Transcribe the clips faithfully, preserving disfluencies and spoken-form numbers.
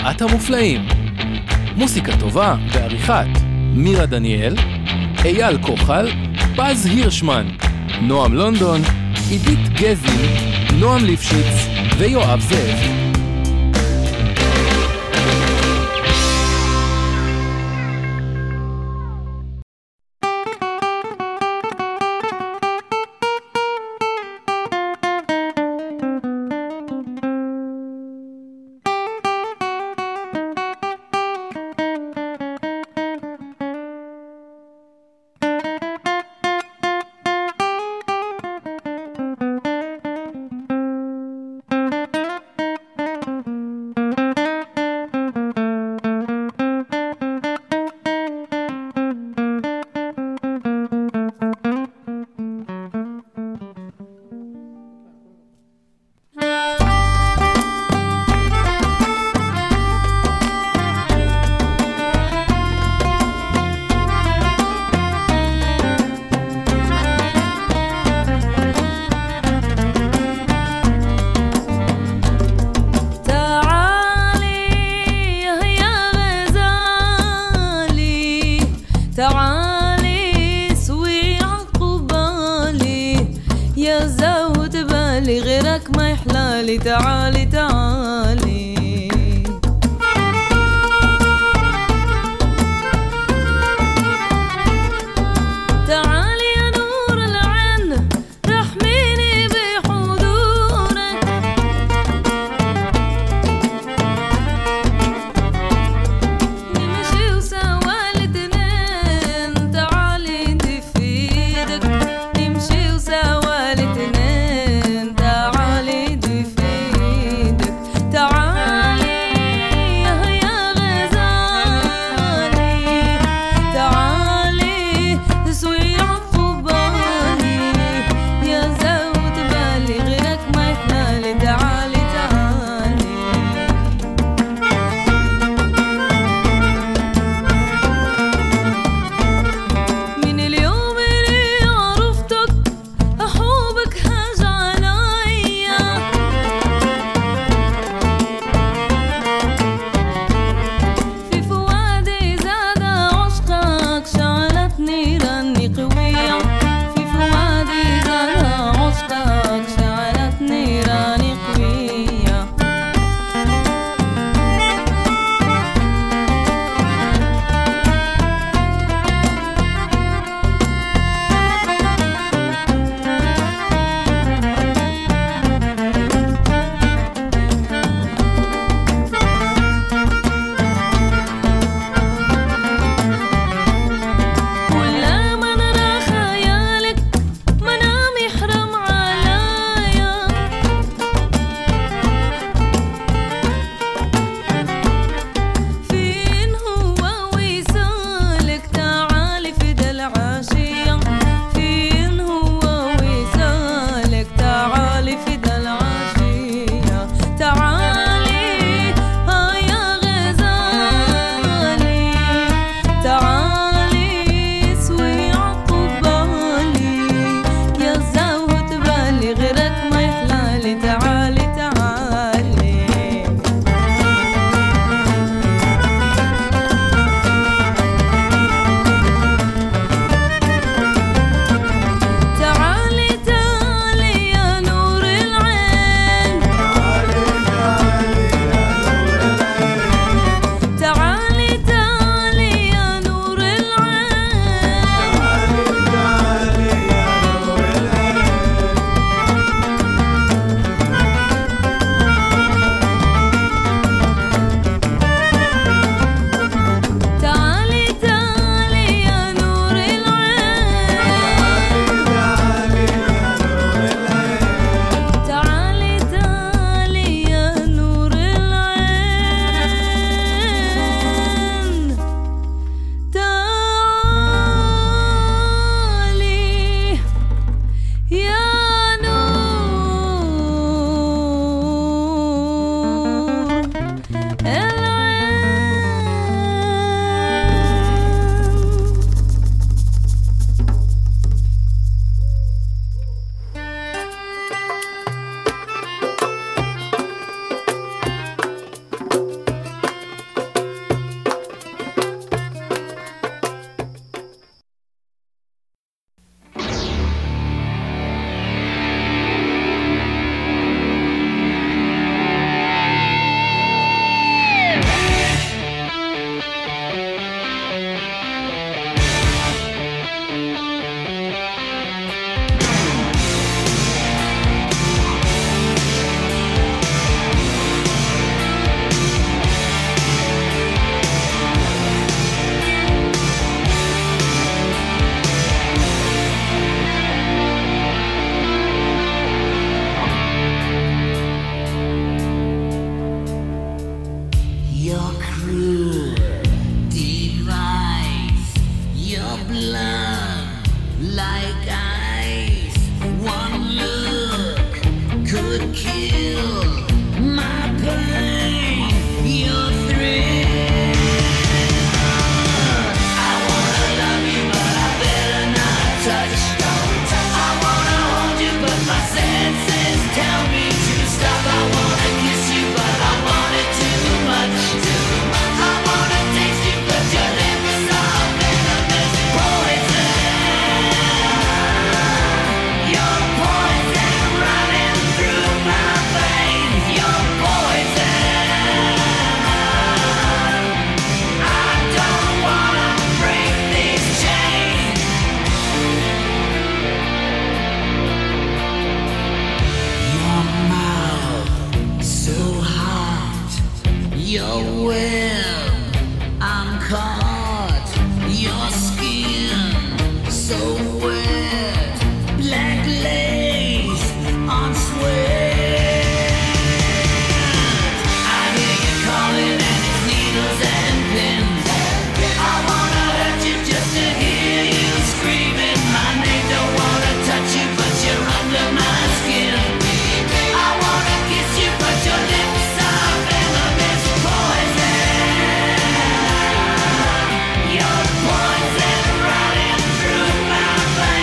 ארבעת המופלאים. מוסיקה טובה ועריכת מירה דניאל, אייל כוחל, פז הירשמן, נועם לונדון, עידית גזין, נועם ליפשיץ ויואב זאב. تعالي تعالي تعالي يا نور العين رحميني بحضورك نمشي وسوا الاتنين تعالي انت في ايدك نمشي وسوا الاتنين تعالي تعالي love like ice. One look could kill my pain, your thrill. I wanna love you, but I better not touch. I wanna hold you, but my senses tell me to stop. I wanna kiss you, but I want it too much. I wanna taste you, but your lips are venomous poison. Your poison running through my veins. Your poison. I don't wanna break these chains. Your mouth so hot, your web I'm caught, your skin so wet, black lace on sweat. I hear you calling and it's needles and pins. I wanna hurt you just to hear you screaming my name. Don't wanna touch you, but you're under my skin. I wanna kiss you, but your lips are venomous poison. Your poison running through my veins.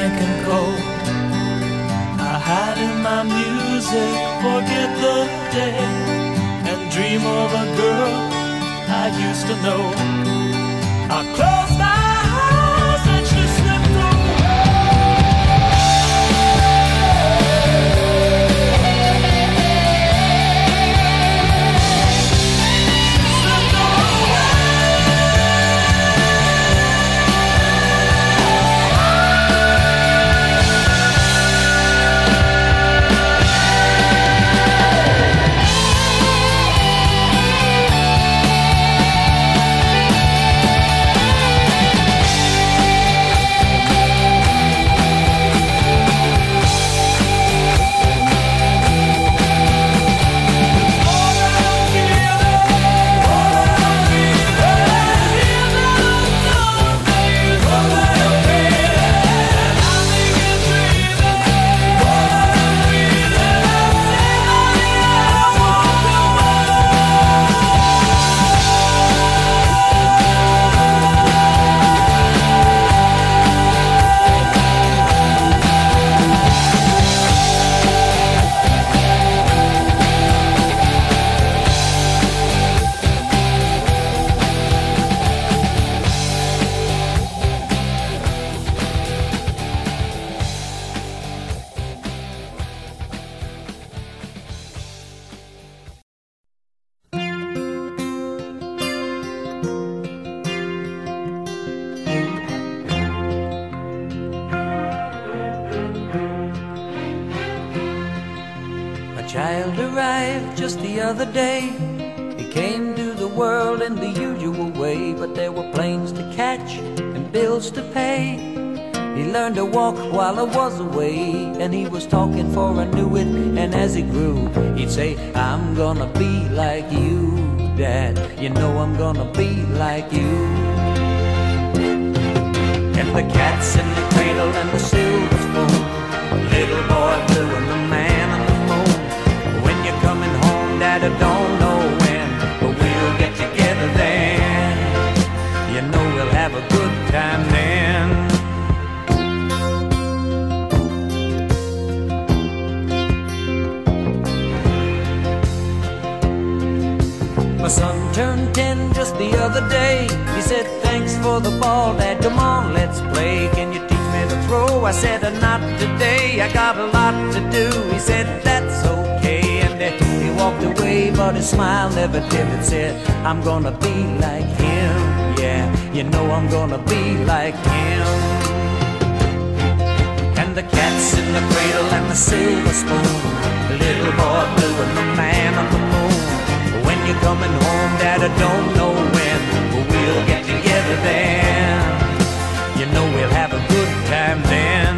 blank and cold. I hide in my music, forget the day, and dream of a girl I used to know. I close my eyes and she slipped away. Slipped away. Child arrived just the other day. He came to the world in the usual way, but there were planes to catch and bills to pay. He learned to walk while I was away, and he was talking for I knew it. And as he grew, he'd say, I'm gonna be like you, Dad. You know I'm gonna be like you. And the cat's in the cradle and the silver spoon, little boy blue and the man on the moon. When you're coming home, Dad, I don't know when, but we'll get together then. You know we'll have a good time then. My son turned ten just the other day. He said, thanks for the ball, Dad, come on, let's play. Can you teach me to throw? I said, not today, I got a lot to do. He said, that's okay, and he walked away, but his smile never dimmed. Said, I'm gonna be like him, yeah, you know I'm gonna be like him. And the cat's in the cradle and the silver spoon, the little boy blue and the man on the moon. When you're coming home, Dad, I don't know when, but we'll get together then. You know we'll have a good time then.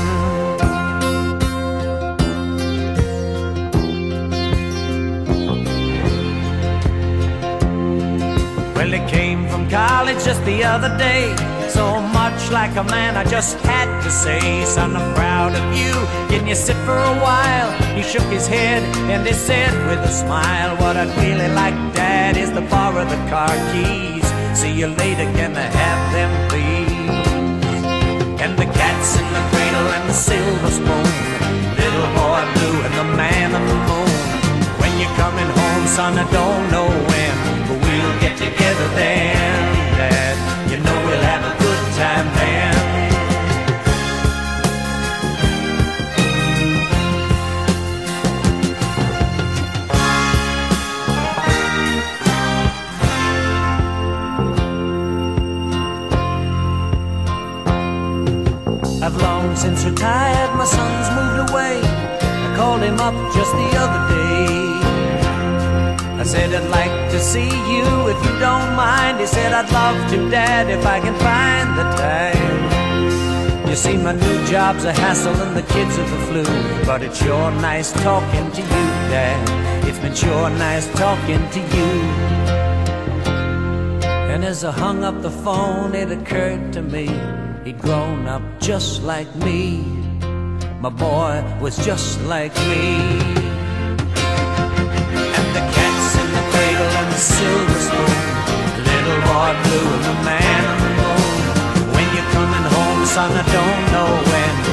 Well, he came from college just the other day, so much like a man I just had to say, son, I'm proud of you, can you sit for a while? He shook his head and he said with a smile, what I'd really like, Dad, is to borrow the car keys. See you later, can I have them please? And the cat's in the cradle and the silver spoon, little boy blue and the man on the moon. When you're coming home, son, I don't know when, but we'll get together then, Dad. You know we'll have a good time then. I've long since retired, my son's moved away. I called him up just the other day. I said, I'd like to see you if you don't mind. He said, I'd love to, Dad, if I can find the time. You see, my new job's a hassle and the kids are the flu, but it's sure nice talking to you, Dad. It's been sure nice talking to you. And as I hung up the phone, it occurred to me, he'd grown up just like me. My boy was just like me. And the cat's in the cradle and the silver spoon, little boy blue and the man on the moon. When you're coming home, son, I don't know when,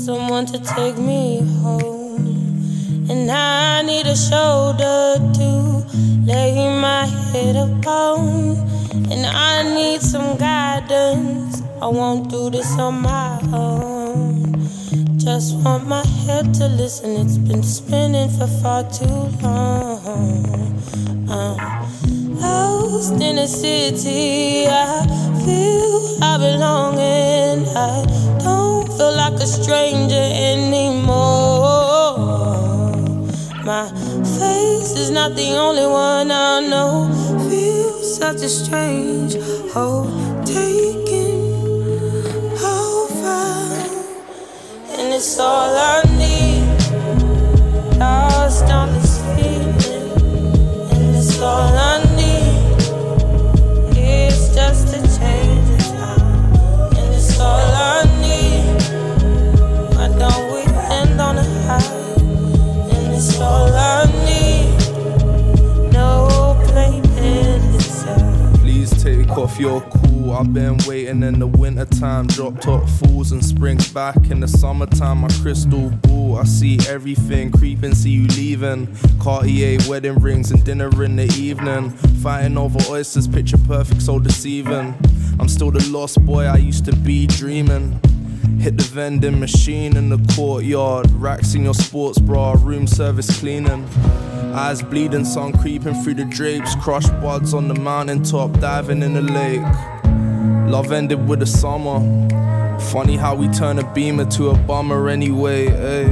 someone to take me home. And I need a shoulder to lay my head upon. And I need some guidance, I won't do this on my own. Just want my head to listen, it's been spinning for far too long. I'm lost in a city, I feel I belong and I don't feel like a stranger anymore. My face is not the only one I know. Feels such a strange hold taking over. And it's all I need, lost on this feeling. And it's all I need, it's just a change of time. And it's all I need, why don't we end on a high? And it's all I need, no playing inside. Please take off your cool, I've been waiting in the winter time. Drop top falls and springs back in the summertime. My crystal ball, I see everything creeping, see you leaving. Cartier wedding rings and dinner in the evening. Fighting over oysters, picture perfect, so deceiving. I'm still the lost boy I used to be, dreaming. Hit the vending machine in the courtyard. Racks in your sports bra, room service cleaning. Eyes bleeding, sun creeping through the drapes. Crushed buds on the mountaintop, diving in the lake. Love ended with the summer. Funny how we turn a beamer to a bummer anyway, eh?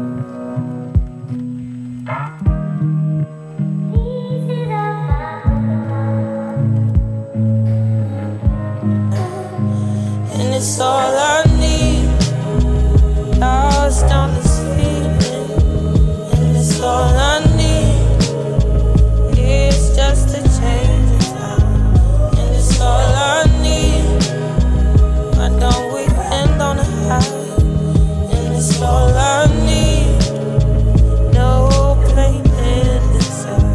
And it's all I need, lost on this feeling. And it's all I need, it's just a change of time. And it's all I need, why don't we end on a high? And it's all I need, no playing inside.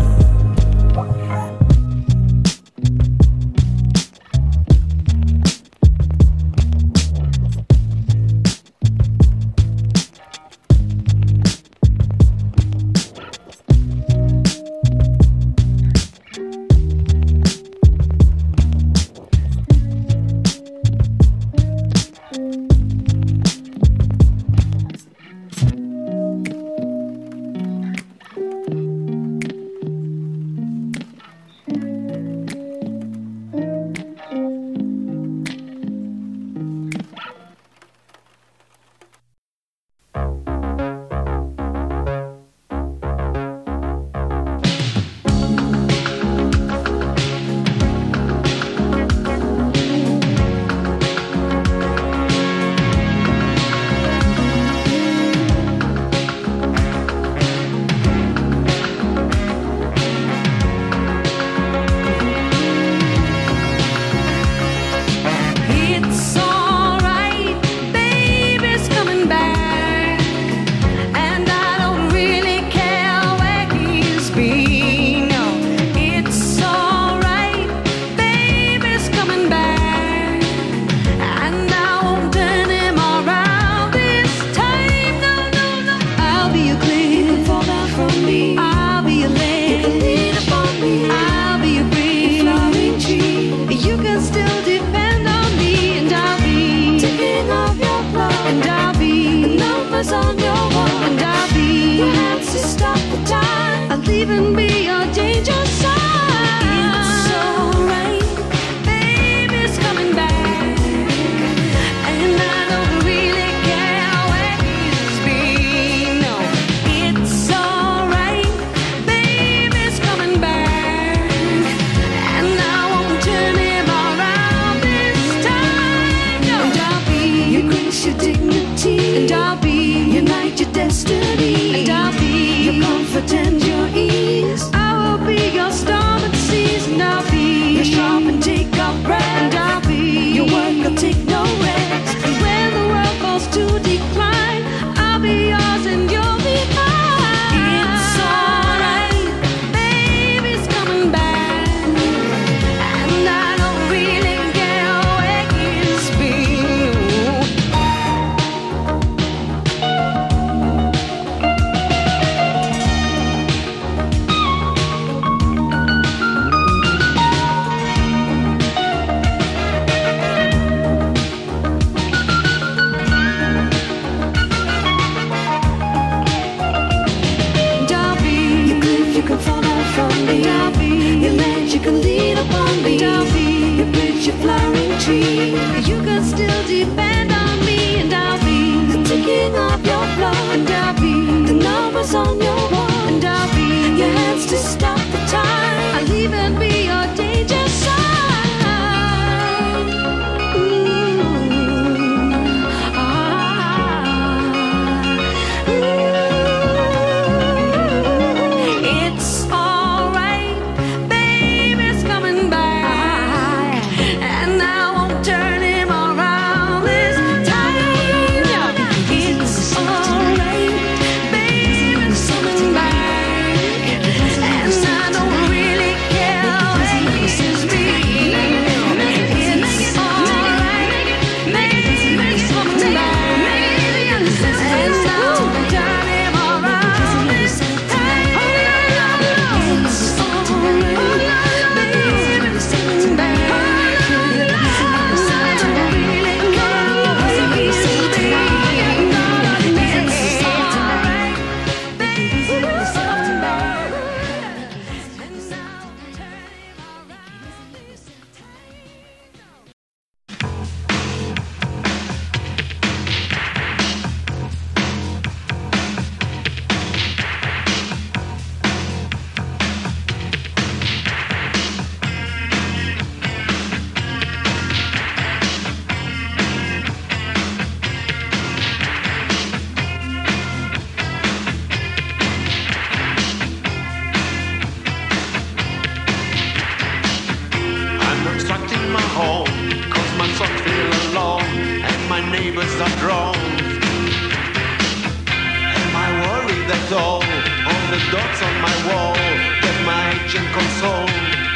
dots on my wall, get my agent console.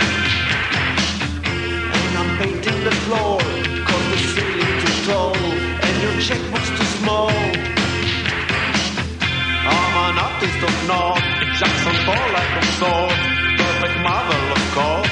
And I'm painting the floor, cause the ceiling too tall, and your checkbook's too small. I'm an artist of naught, Jackson Pollock of sort, perfect marvel of course.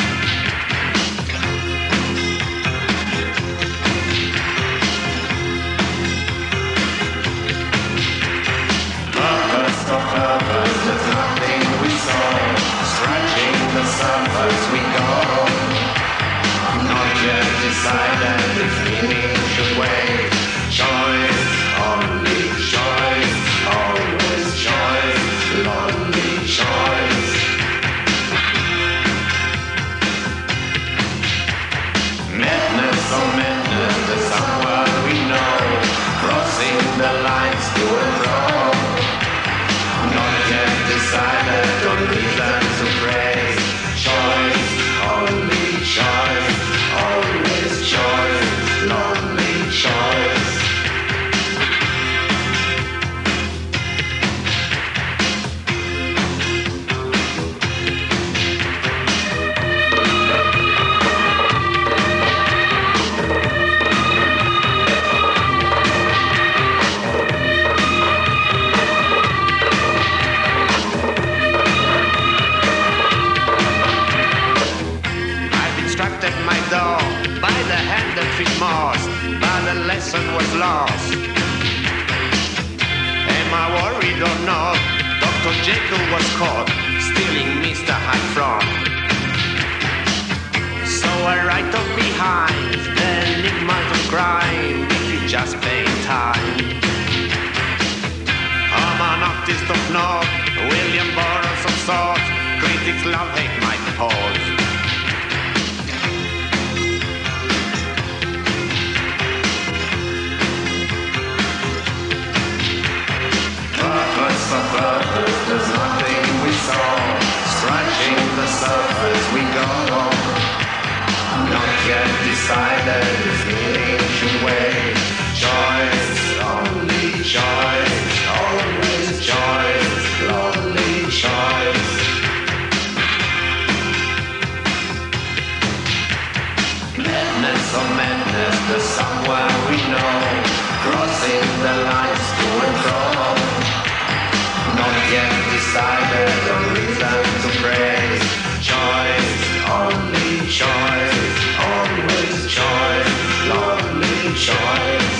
Lovers of lovers, there's nothing we saw. Scratching the surface we go. Not yet decided if meaning should wait. Choice, only choice, always choice, lonely choice. Madness or madness, there's someone we know. Crossing the lines to and fro. Not yet decided on reason to praise. Choice, only choice, always choice, lonely choice. My door by the hand that fit Mars, but the lesson was lost. Am I worried or not? Doctor Jekyll was caught stealing Mister Hyde from. So I write up behind the enigmas of crime if you just pay time. I'm an artist of note, William Burroughs of sorts. Critics love hate my pause. Purpose of purpose, there's nothing we saw. Scratching the surface we go. Not yet decided if meaning should wait. Choice, only choice, always choice, lonely choice. Madness or madness, there's somewhere we know. Crossing the lines to and fro. Not yet decided on reason to praise. Choice, only choice, always choice, lonely choice.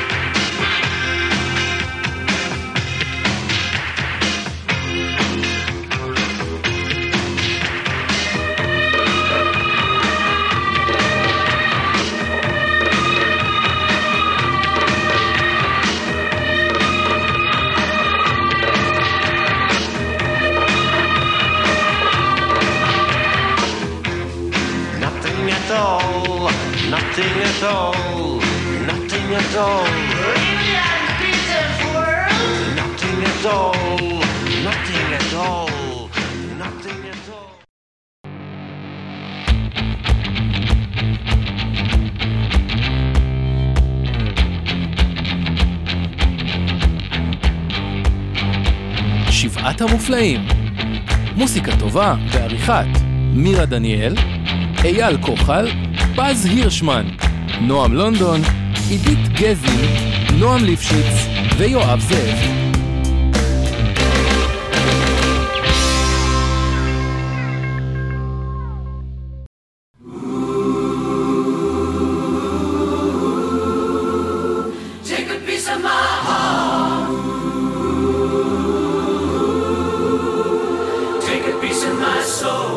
Nothing at all, nothing at all. Really like the pizza's world? Nothing at all, nothing at all, nothing at all. שבעת המופלאים. מוסיקה טובה בעריכת מירה דניאל, אייל כוחל, פז הירשמן, נועם לונדון, עידית גזין, נועם ליפשיץ ויואב זאב. Take a piece of my heart. Take a piece of my soul.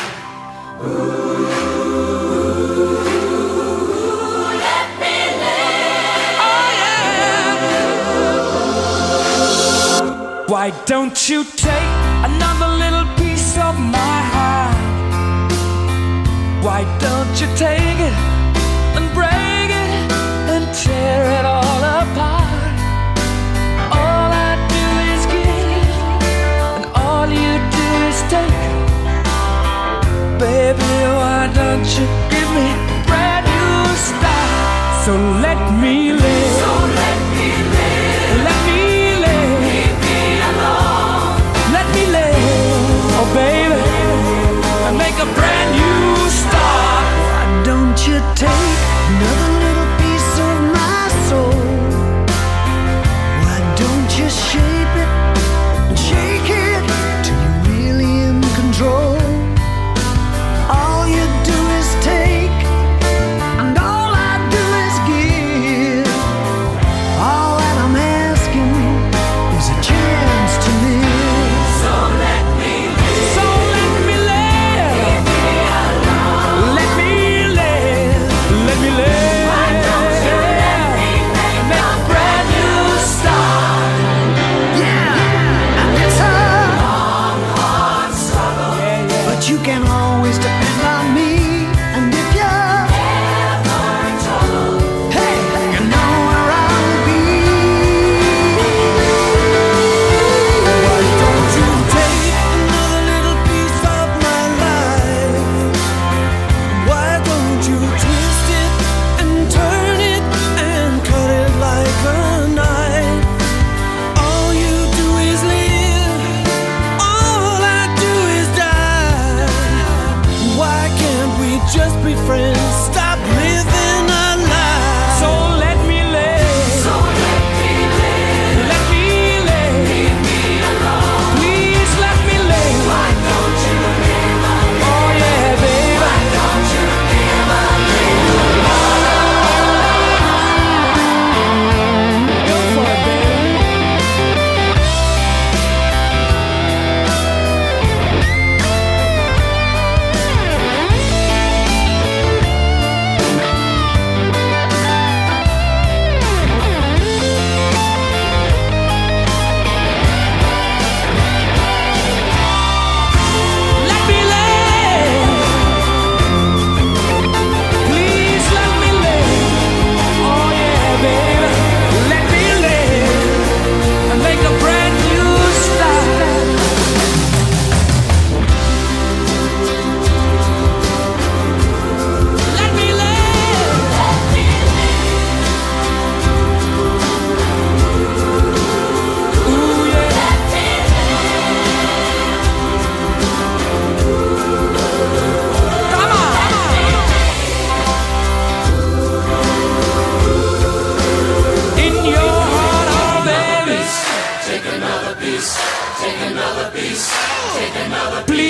Why don't you take another little piece of my heart? Why don't you take it and break it and tear it all apart? All I do is give, and all you do is take. Baby, why don't you give me a brand new start? So let me live. So let me live. Let me live. Leave me alone. Let me live.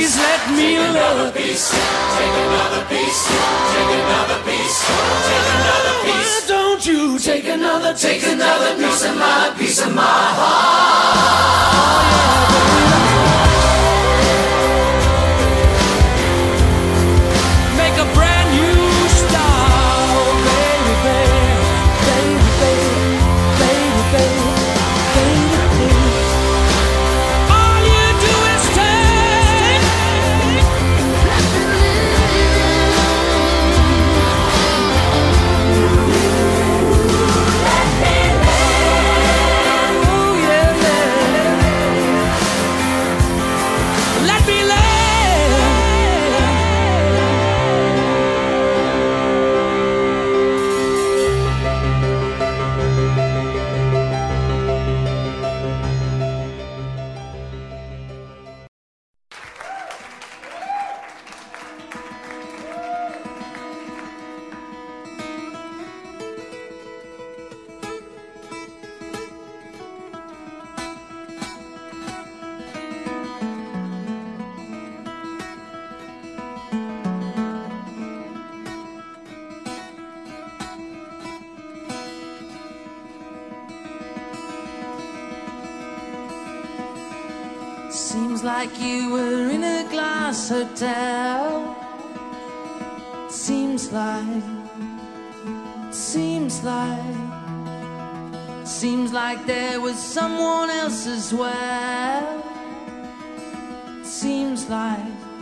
please let me love. piece, take another piece, take another piece, take another piece. Why don't you take another, Take another piece of my, piece of my heart. make a brand new start, baby, baby, baby, baby, baby, baby, baby, baby. All you do is take. Oh yeah, yeah. Let me lay. Seems like you were in a glass hotel. Seems like, seems like, seems like there was someone else as well. Seems like,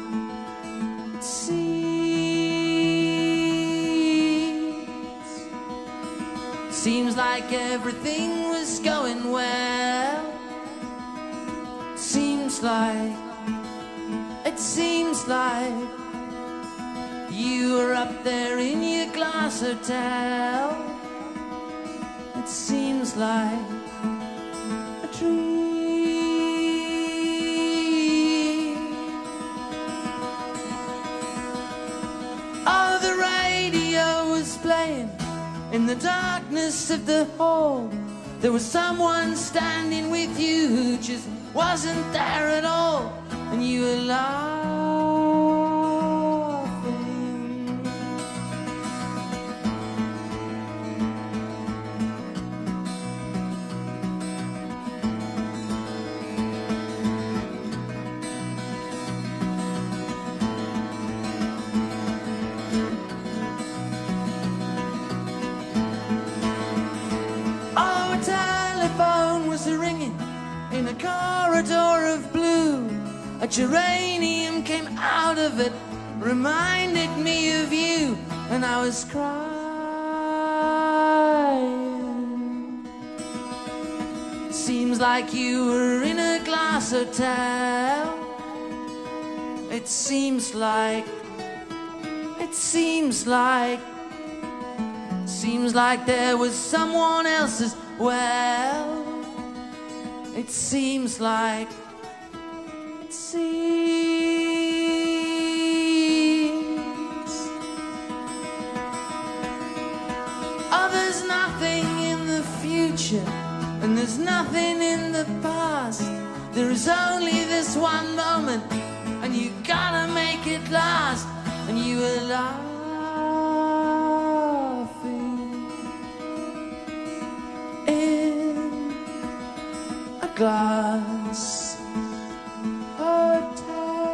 seems, seems like everything was going well. Seems like, it seems like you were up there in your glass hotel. It seems like a dream. Oh, the radio was playing in the darkness of the hall. There was someone standing with you who just wasn't there at all, and you were laughing. Oh, a telephone was ringing in a corridor of blue. A geranium came out of it, reminded me of you, and I was crying. Seems like you were in a glass hotel. It seems like, it seems like, seems like there was someone else as well. It seems like, it seems. Oh, there's nothing in the future, and there's nothing in the past. There is only this one moment, and you gotta make it last. And you were laughing in a glass hotel.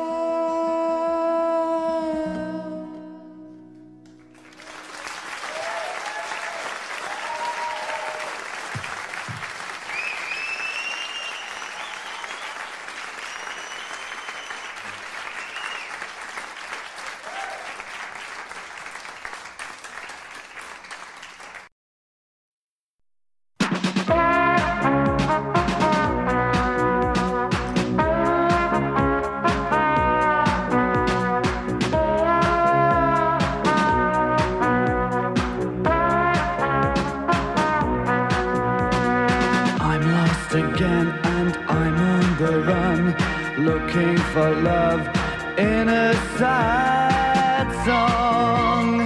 Again, and I'm on the run, looking for love in a sad song.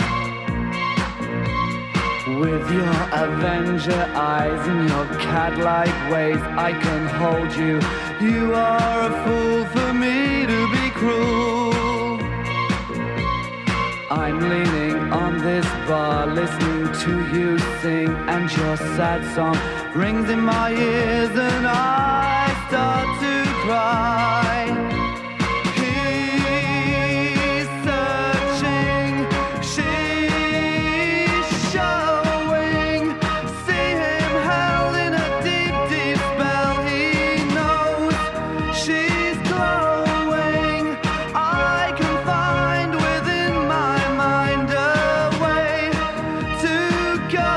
With your Avenger eyes and your cat-like ways, I can hold you. You are a fool for me to be cruel. I'm leaning on this bar, listening to you sing, and your sad song rings in my ears, and I start to cry. He's searching, she's showing. See him held in a deep, deep spell. He knows she's glowing. I can find within my mind a way to go.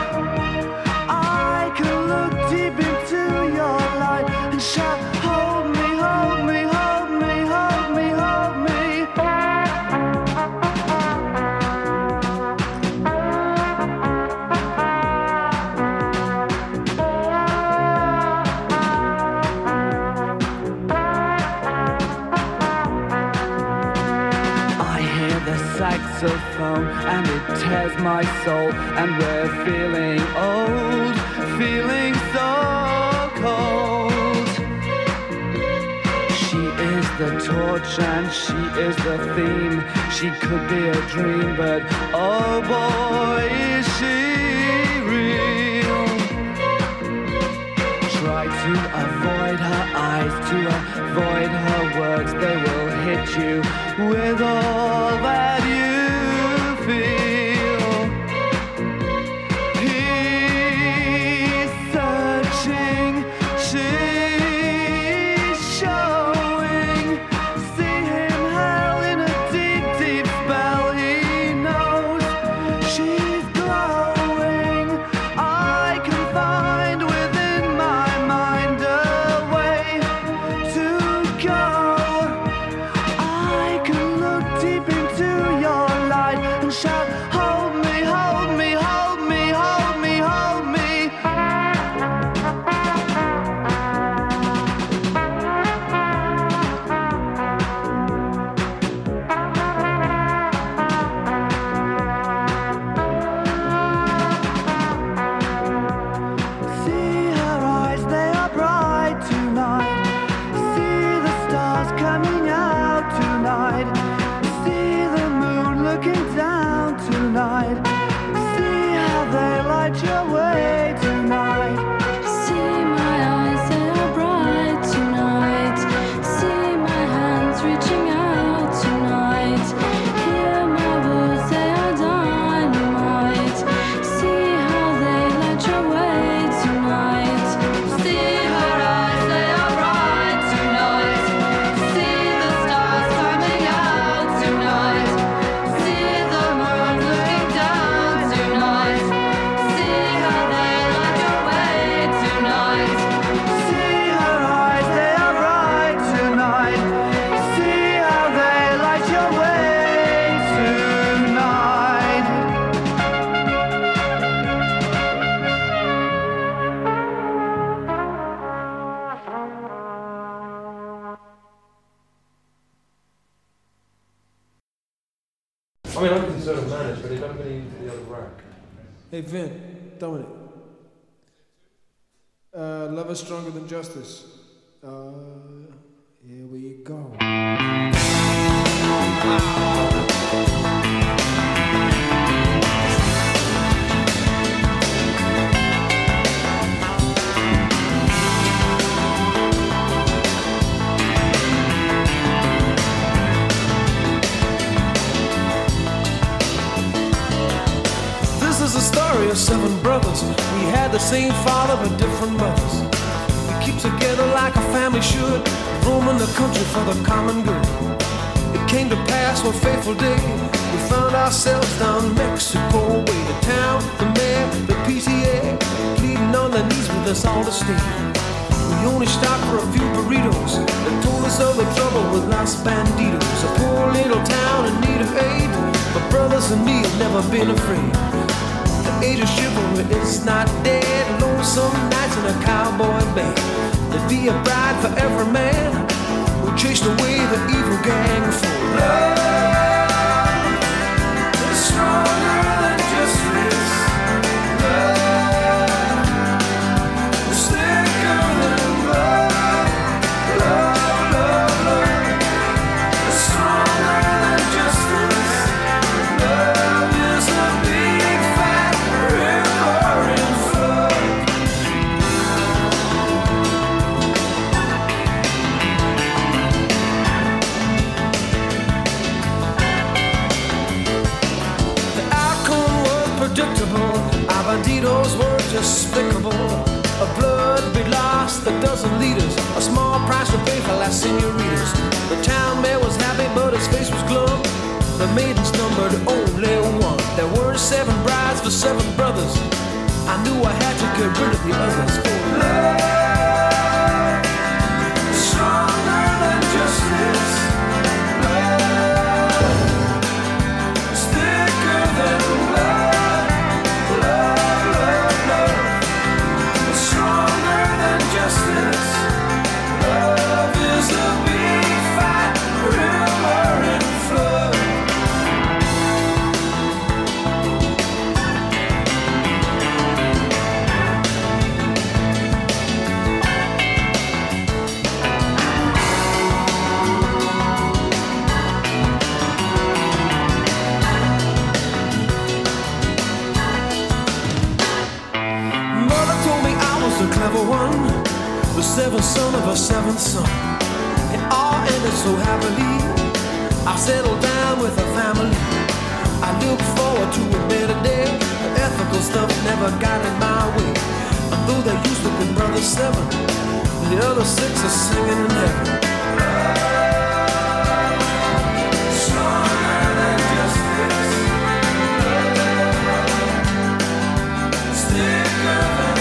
I can look deep into your light and shout, hold me, hold me, hold me, hold me, hold me. I hear the saxophone and it tears my soul, and we're feeling old, feeling so cold. She is the torch and she is the theme. She could be a dream, but oh boy, is she real. Try to avoid her eyes, to avoid her words. They will hit you with all that you feel. He's searching, she's showing. See him held in a deep, deep spell. He knows she's glowing. I can find within my mind a way to go. I can look deep into your light and shout, hold me, hold me, hold me, hold me, hold me. See her eyes, they are bright tonight. See the stars coming out tonight. See the moon looking down tonight. See how they light your way tonight. See my eyes, they are bright tonight. See my hands reaching out tonight. Hear my words, they are dynamite. See how they light your way tonight. See her eyes, they are bright tonight. See the stars coming out tonight. See the moon looking down tonight. See how they light your way tonight. See her eyes, they are bright tonight. See how they light your way tonight. I mean, I can sort of manage, but it don't get into the other rack. Hey Vin, Dominic. Uh, love is stronger than justice. Uh, here we go. This is a story of seven brothers. We had the same father but different mothers. We keep together like a family should, roaming the country for the common good. It came to pass one fateful day, we found ourselves down Mexico way. The town, the mayor, the P T A, pleading on their knees with us all to stay. We only stopped for a few burritos and told us of the trouble with Los Banditos. A poor little town in need of aid, but brothers and me have never been afraid. The age of chivalry is not dead. Lonesome nights in a cowboy band. There'd be a bride for every man who chased away the evil gang. For love is stronger than justice. Love is thicker than blood. Love, love, love. we'd lost a dozen leaders, a small price to pay for last senoritas. The town mayor was happy, but his face was glum. The maidens numbered only one. There were seven brides for seven brothers. I knew I had to get rid of the others. For love, stronger than justice. Love, is thicker than blood. Love, love, love, is stronger than justice. Love is a big fat river in flood. The clever one, the seventh son of a seventh son. It all ended so happily. I settled down with a family. I look forward to a better day. The ethical stuff never got in my way. And though there used to be brother seven, the other six are singing in heaven. Stronger than justice. Thicker than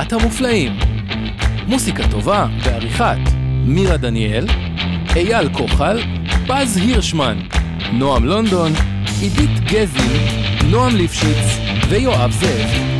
להקת המופלאים. מוסיקה טובה בעריכת מירה דניאל, אייל כוחל, פז הירשמן, נועם לונדון, עידית גזין, נועם ליפשיץ ויואב זאב.